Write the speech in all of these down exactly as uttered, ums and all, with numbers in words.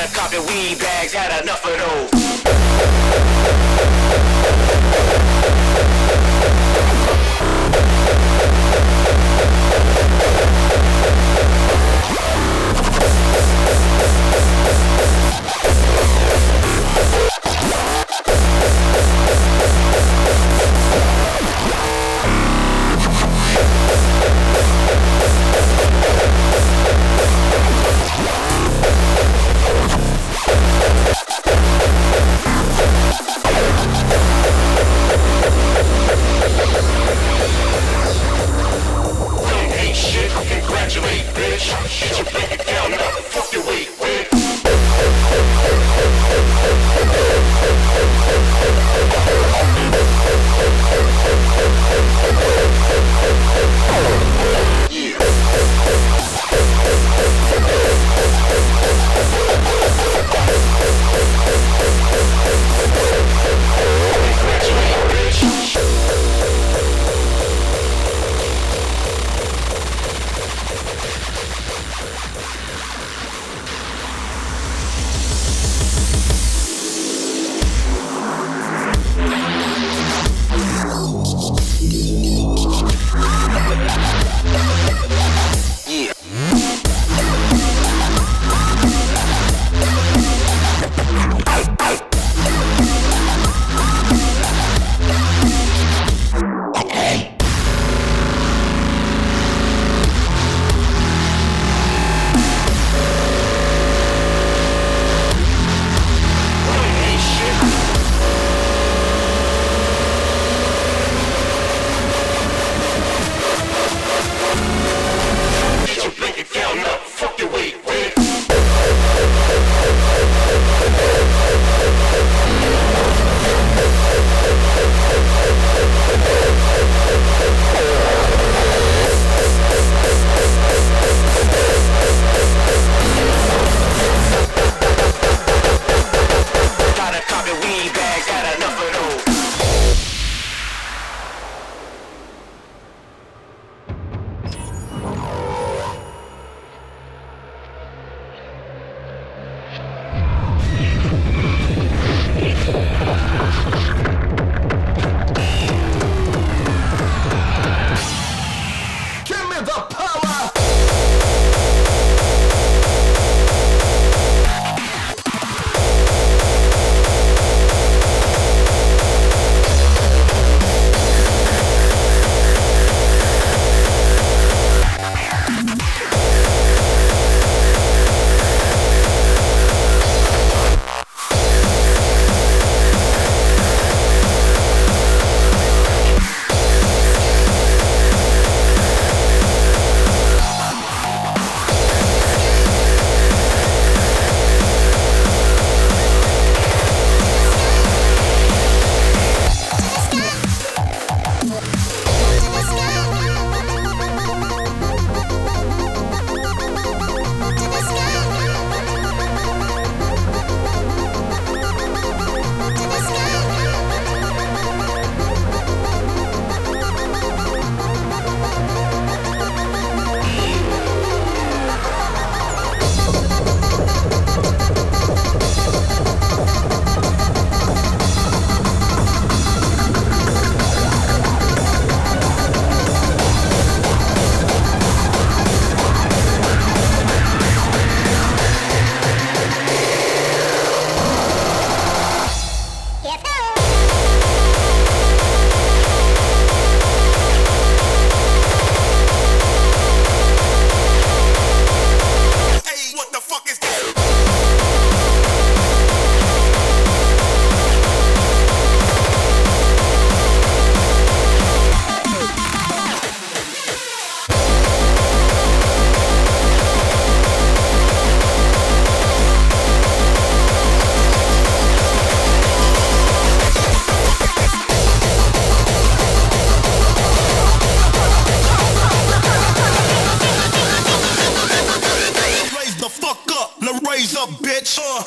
Gotta copy weed bags, had enough of those. raise up, bitch. Uh.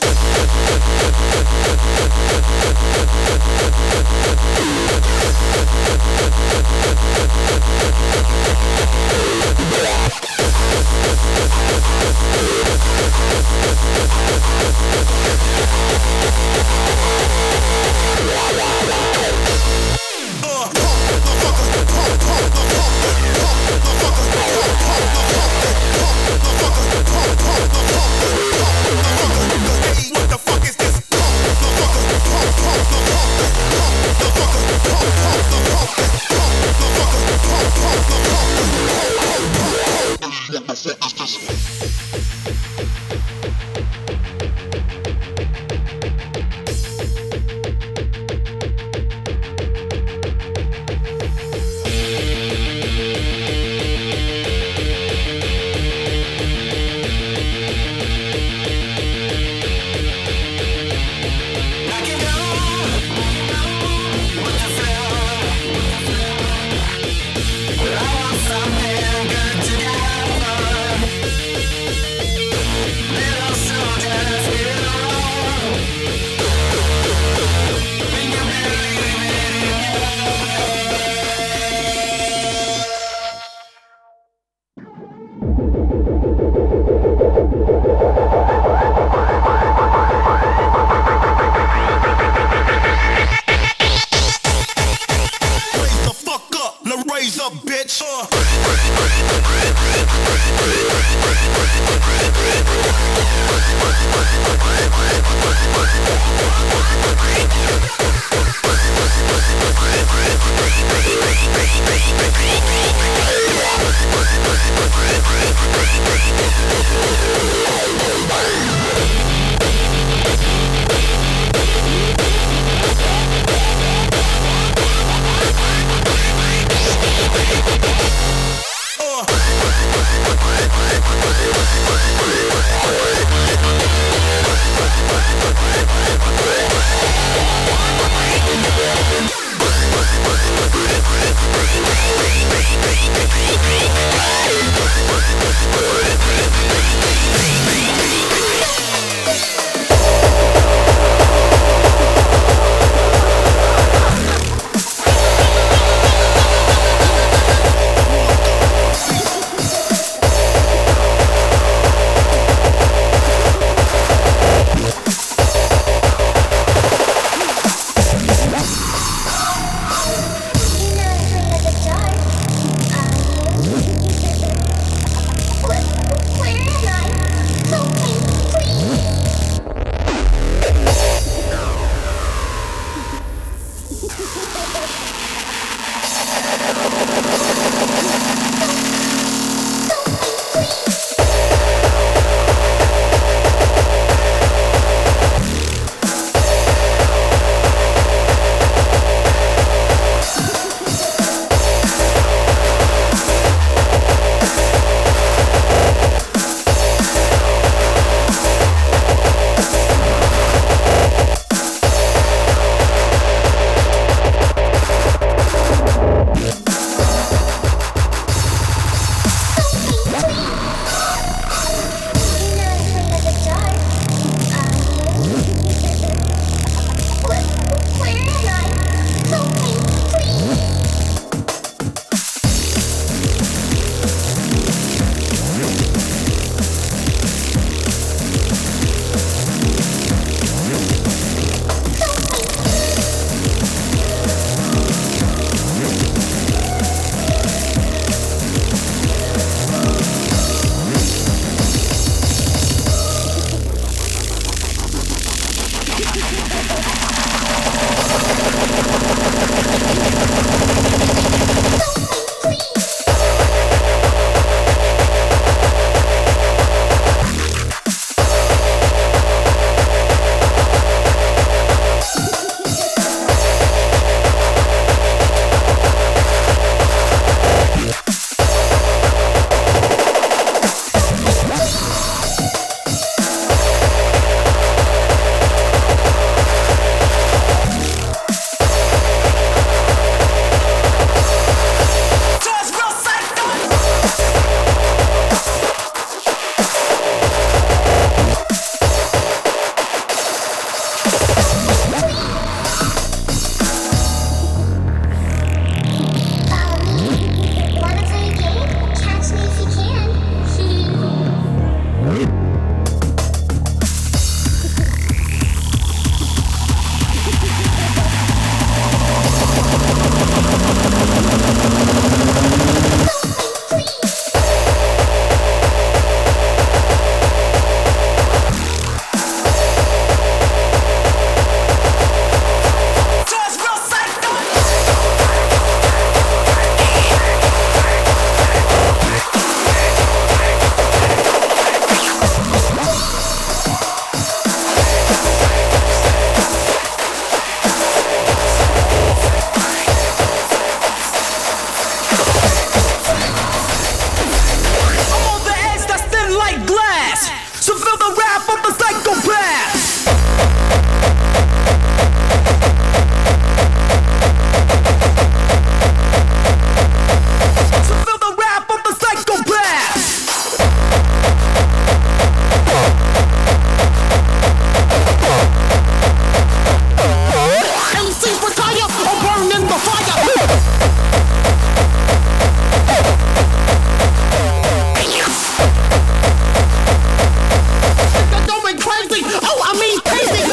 me crazy.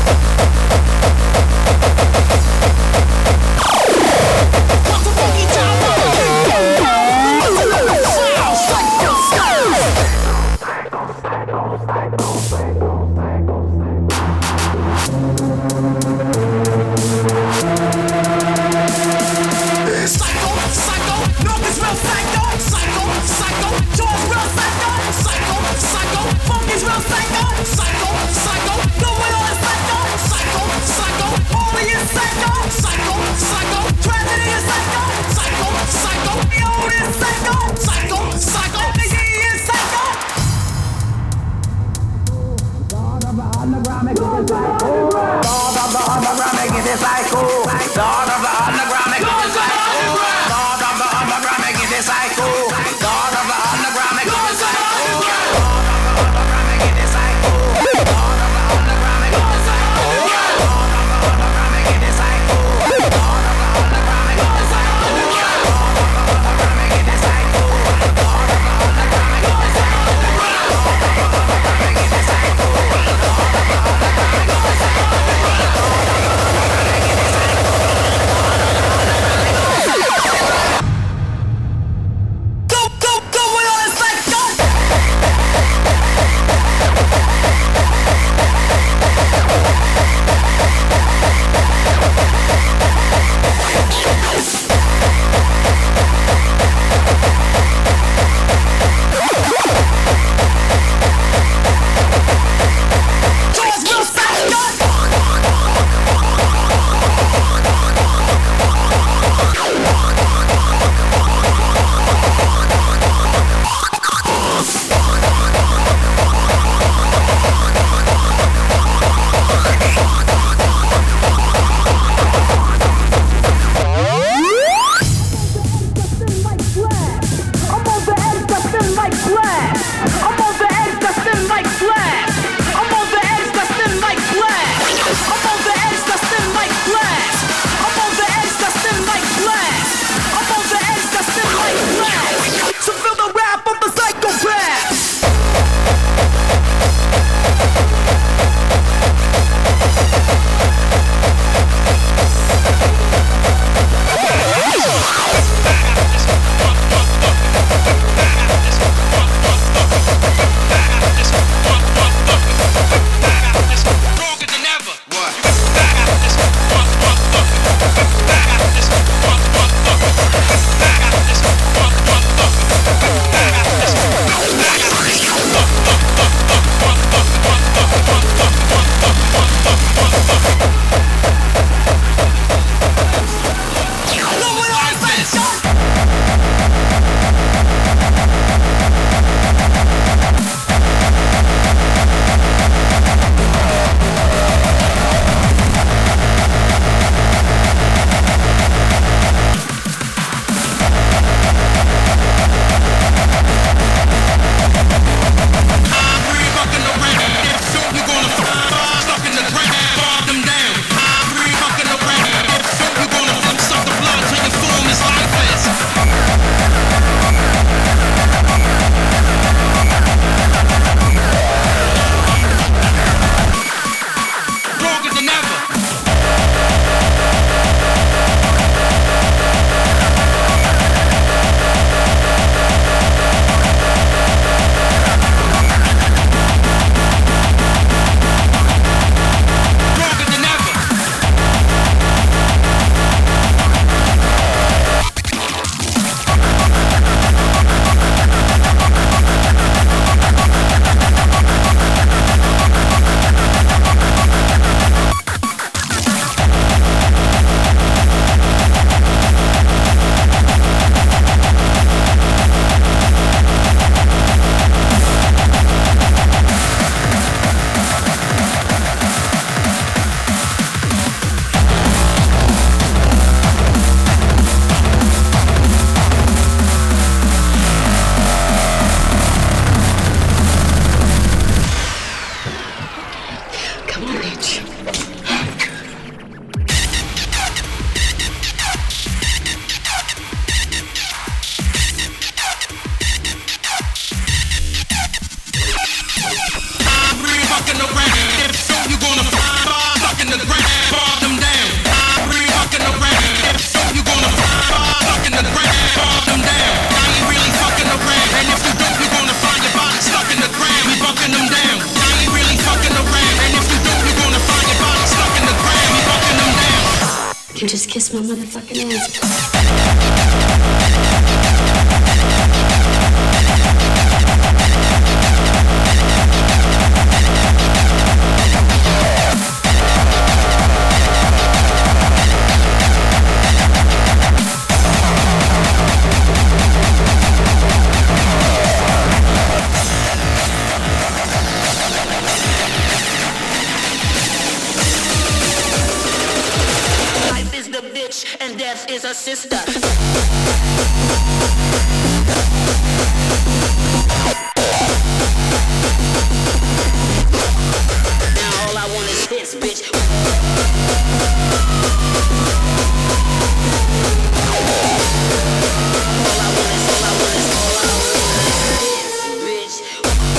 Want to funky tower? Psycho, psycho, no, it's real psycho, psycho, psycho, Joe's real psycho, psycho, psycho, funky's real psycho, psycho, psycho, no way on psycho, psycho, psycho, only is psycho, psycho, psycho, tragedy is psycho, psycho, psycho, the old is psycho, psycho, psycho, the ye is psycho. God of the underground, make it psycho. God of the underground, make it psycho. God of the underground, make it psycho. God of the underground, make it psycho. God of the underground, make it psycho. Fucking around, if so can just kiss my motherfucking ass. And death is a sister. Now all I want is hits, bitch. All I want is, all I want is, all I want is hits, bitch.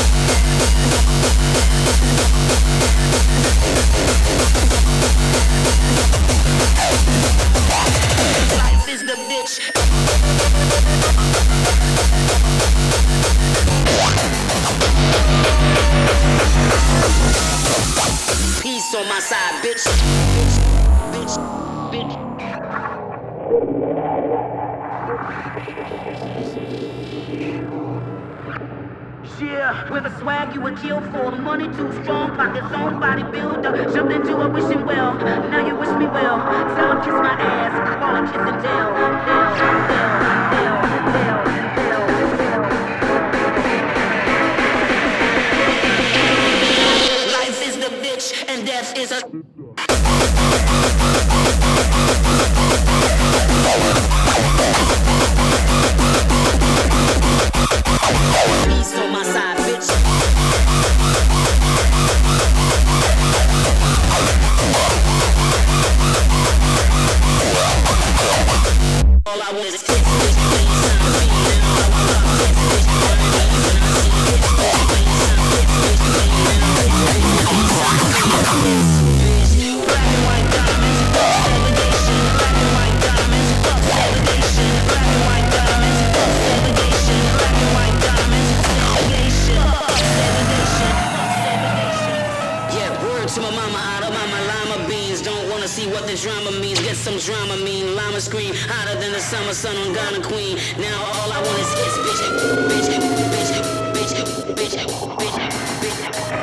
Life is the bitch. Peace on my side, bitch. Bitch, bitch, yeah, with a swag you would kill for. Money too strong, pockets on bodybuilder. Jumped into a wishing well, now you wish me well. Tell him kiss my ass, call him kiss and tell. Tell, tell, tell, tell, tell. Life is the bitch and death is a... Peace on my side, bitch. All I want is hits, bitch, please, I'm me. Now I want love, hits, bitch, burn me. When I see hits, bitch, please, I'm hits, bitch, please. Now hits, bitch, please, I'm hits, bitch. Black and white diamonds, fuck segregation. Black and white diamonds, fuck segregation. Black and white diamonds, fuck segregation. Black and white diamonds, segregation. Fuck segregation, fuck segregation. Yeah, word to my mama, out of my lima beans. Don't wanna see what the drama means. Get some drama mean. Llama scream hotter than the summer sun on Ghana Queen. Now all I want is hits, bitch, bitch, bitch, bitch, bitch, bitch, bitch.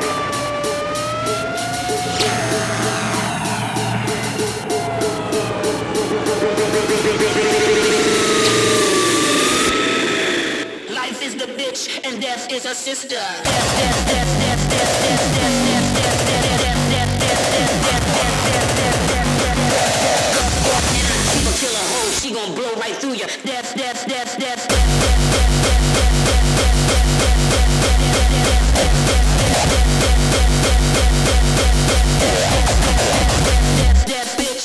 Life is the bitch and death is a sister. Death, death, death, death, death, death, death, death, death, death, death, death, death, death, death, death, death, death. People kill a hoe, she gon' blow right through ya. Death, death, death, death, death, death, death, death, death, death, death, death, death, death, death, bitch.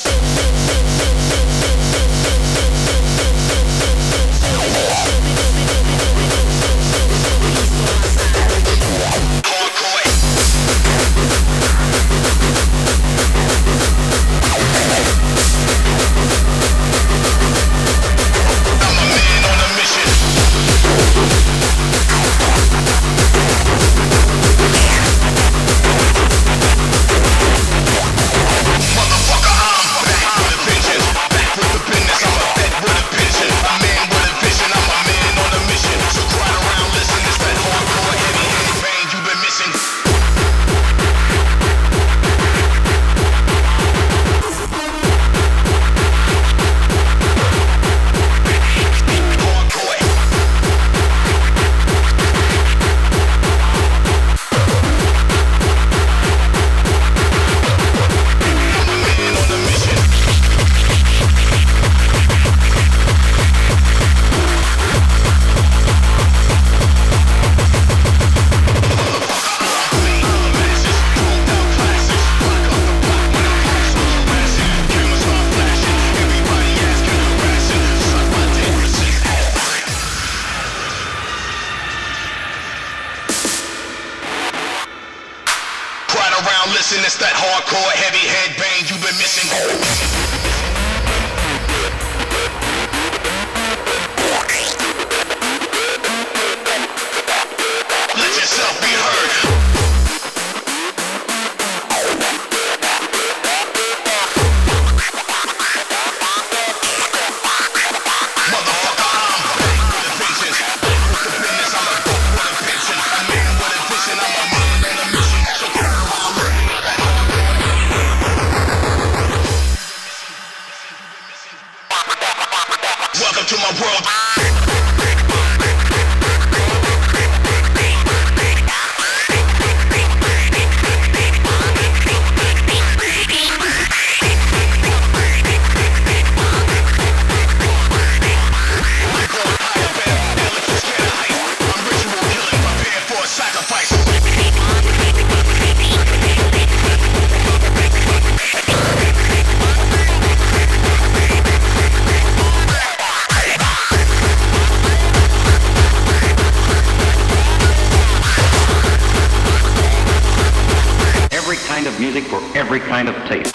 Listen, it's that hardcore, heavy headbang you've been missing. Let yourself be heard. every kind of taste.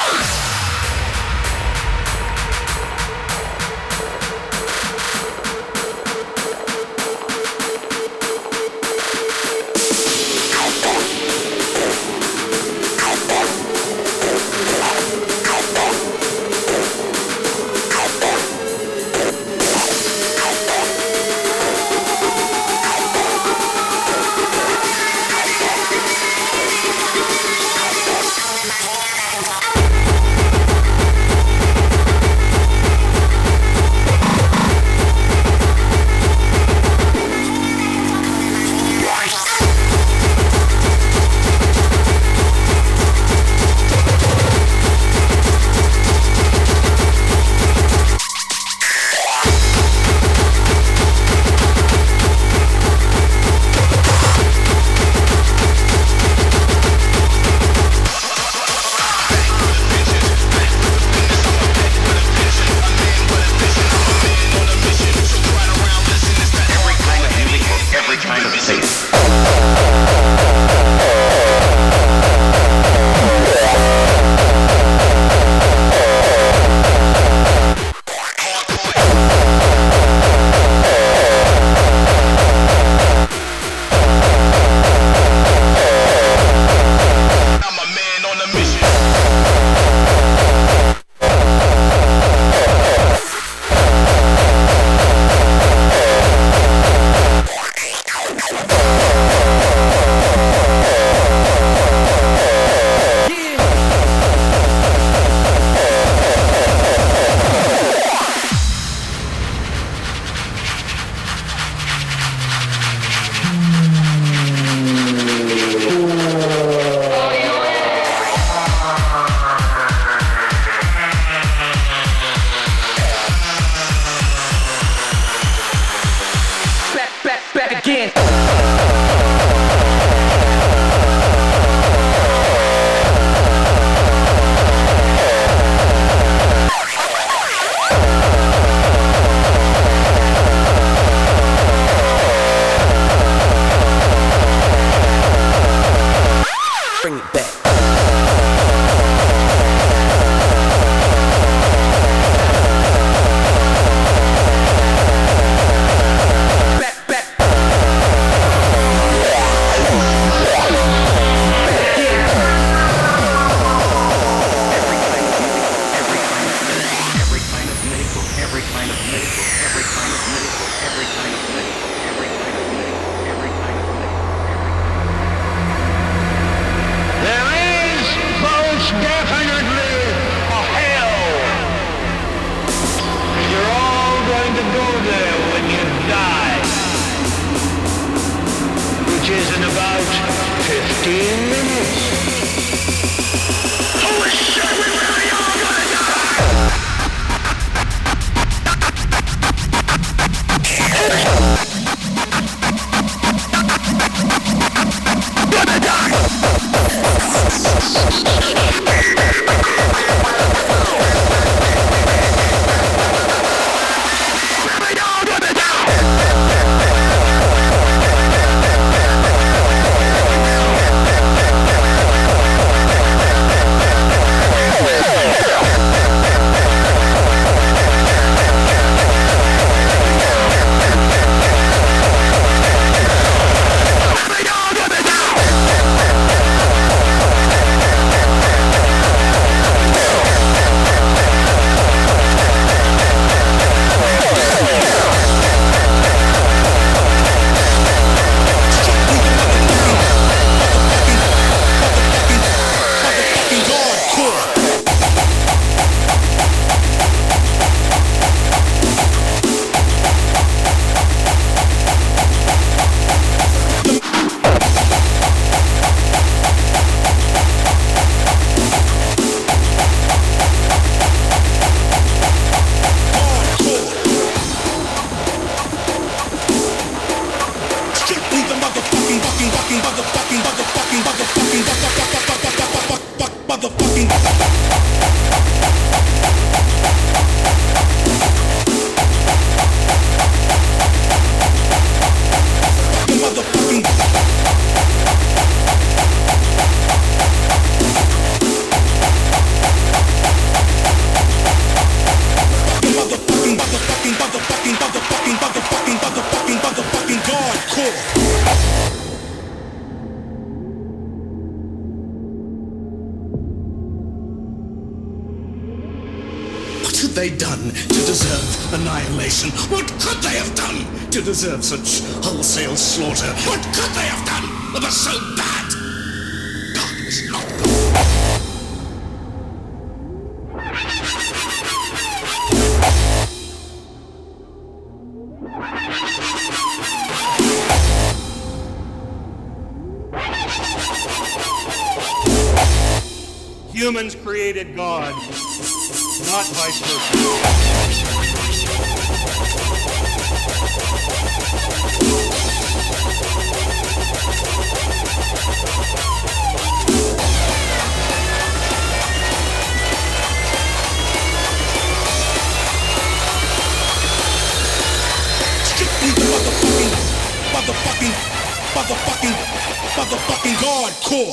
had they done to deserve annihilation? What could they have done to deserve such wholesale slaughter? What could they have done that was so bad? God was not good. Humans created God, not vice versa. Strictly the motherfucking, motherfucking, motherfucking, motherfucking hardcore.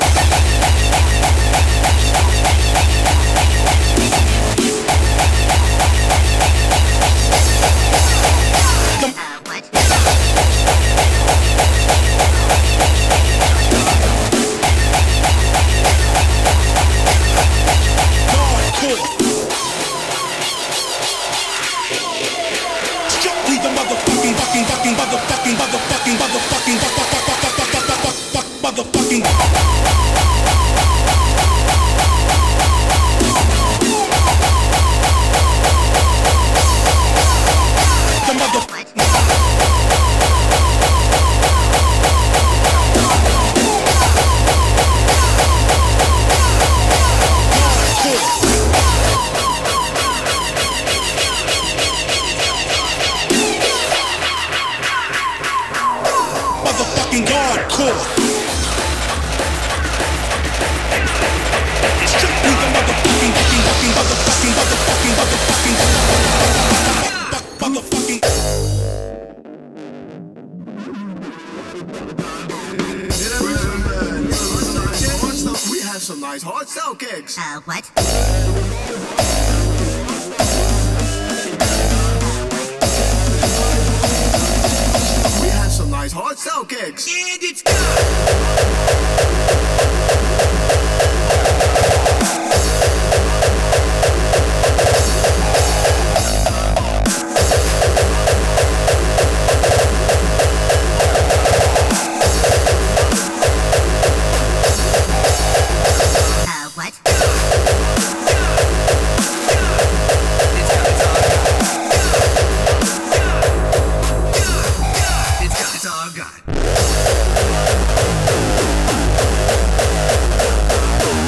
Uh, what? We have some nice hard cell cakes. And it's It's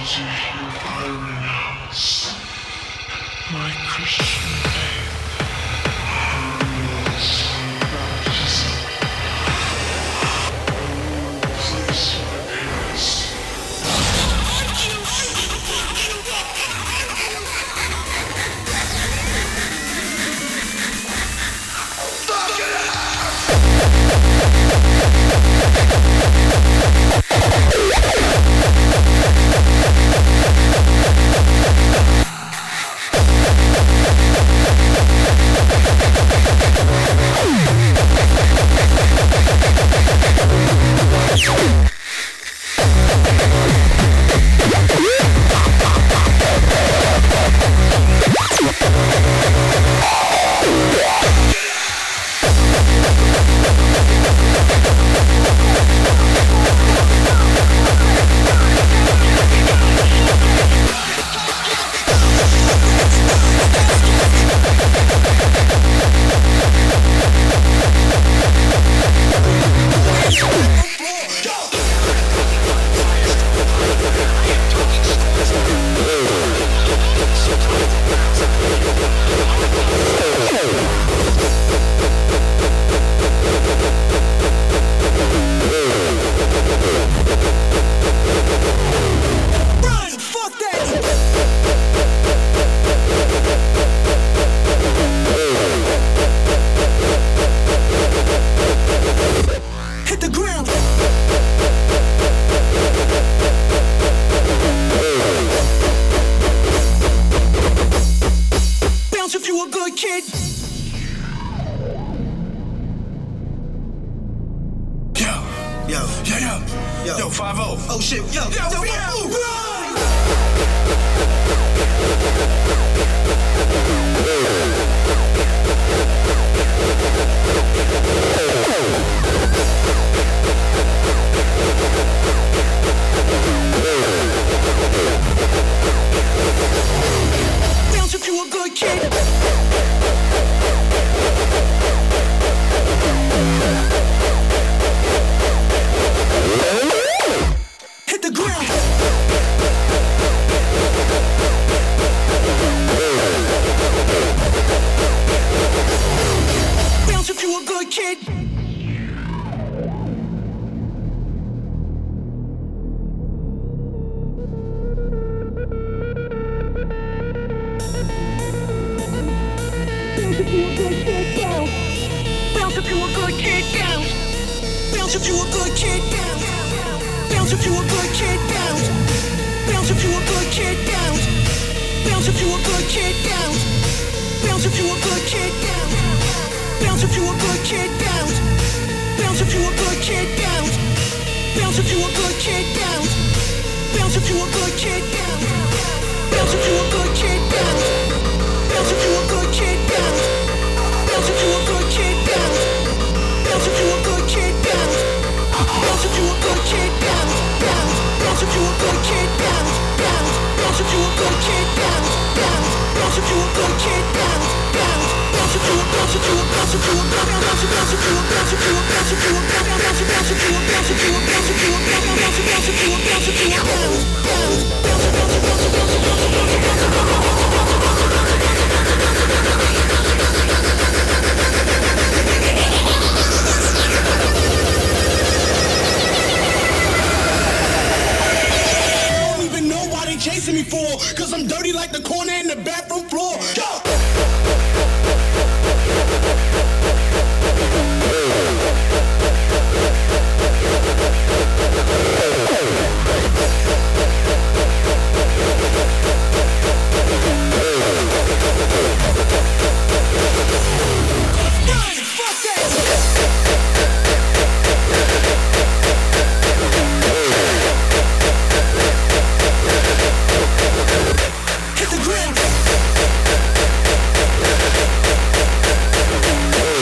Hit the ground.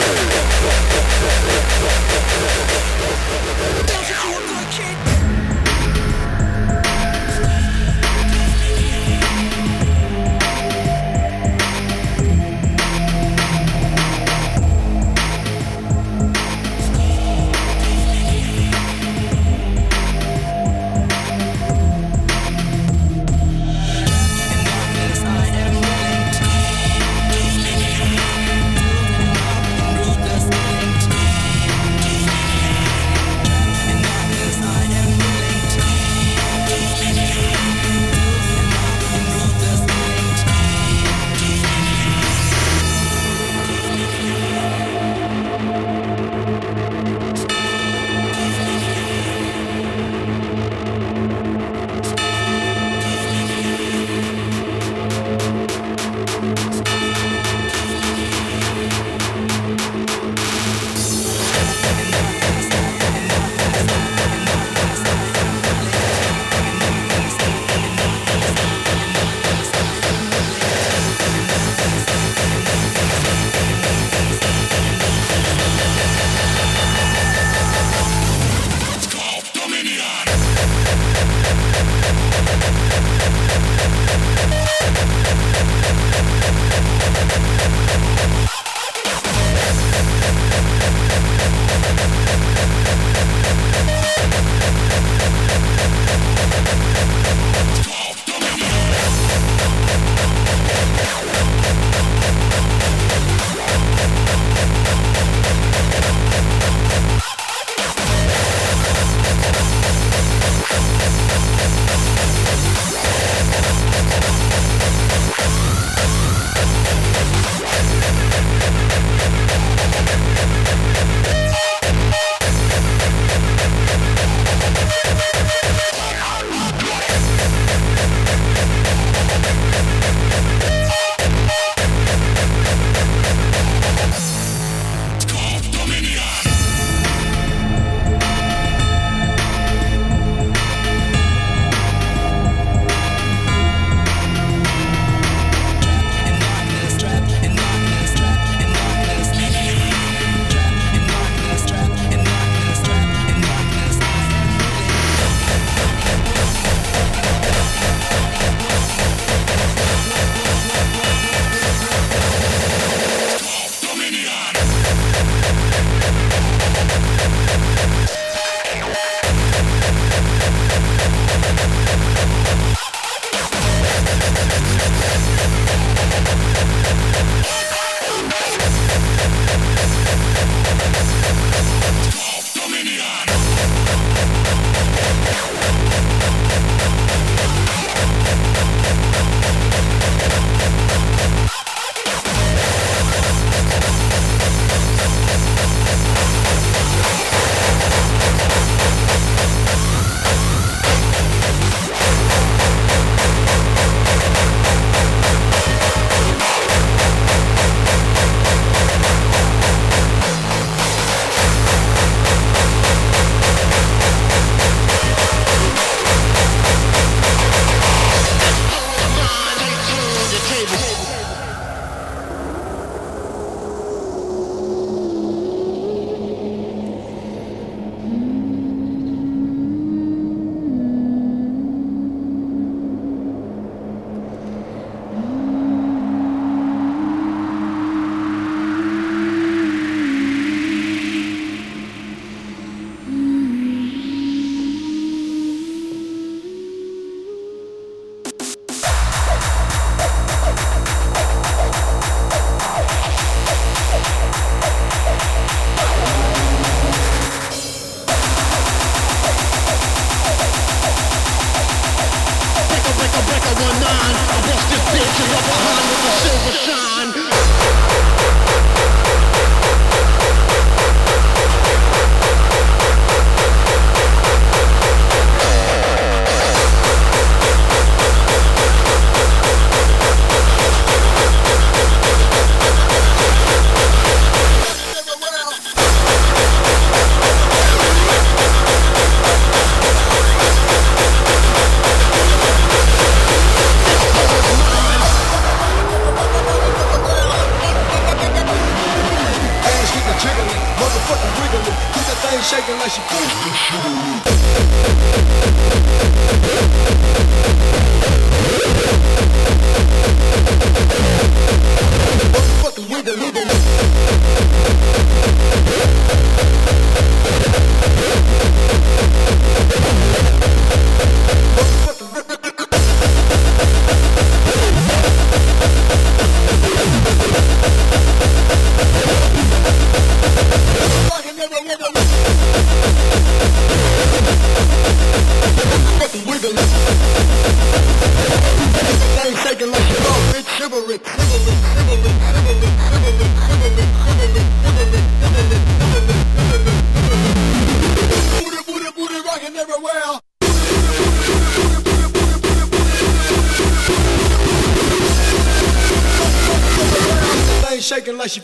Shaking like she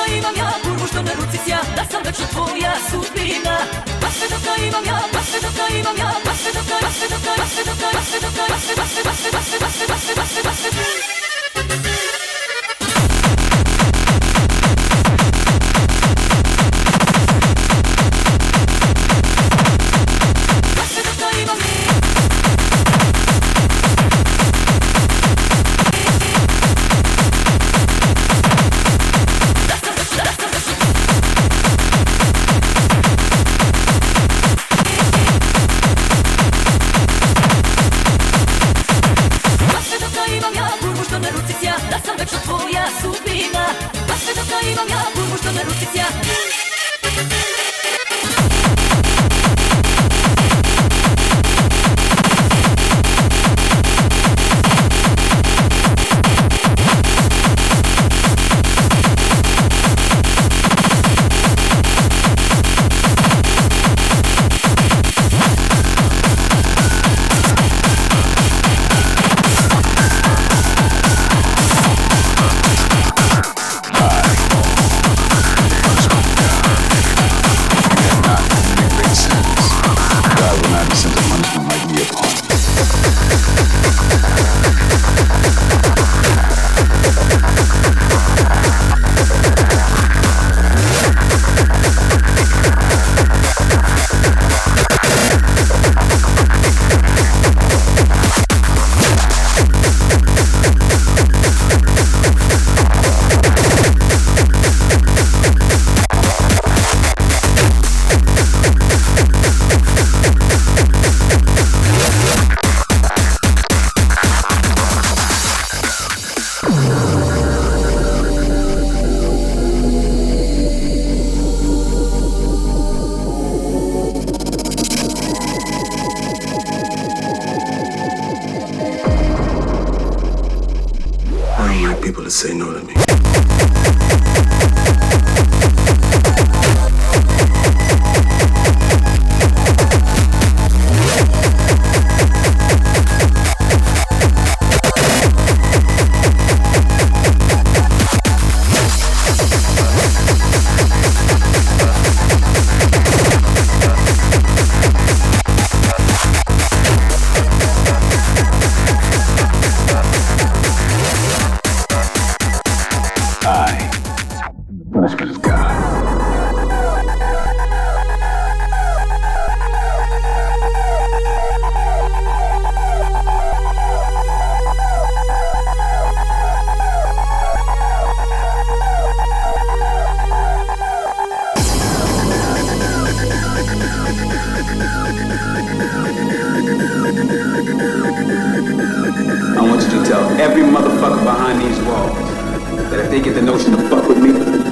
imam ja, kurvu što na ruci sja, da sam večno tvoja sudbina. Baš sve dok imam ja, baš sve dok imam ja, baš sve dok, baš sve dok, baš sve dok, baš sve dok, baš sve, baš sve, baš sve, baš sve, baš sve, baš sve, baš sve, baš sve, baš sve. Da sam večno tvoja sudbina. Baš sve dok imam ja, kurvu što na ruci sja. People to say no to me. Punishment is God. I want you to tell every motherfucker behind these walls that if they get the notion to fuck with me,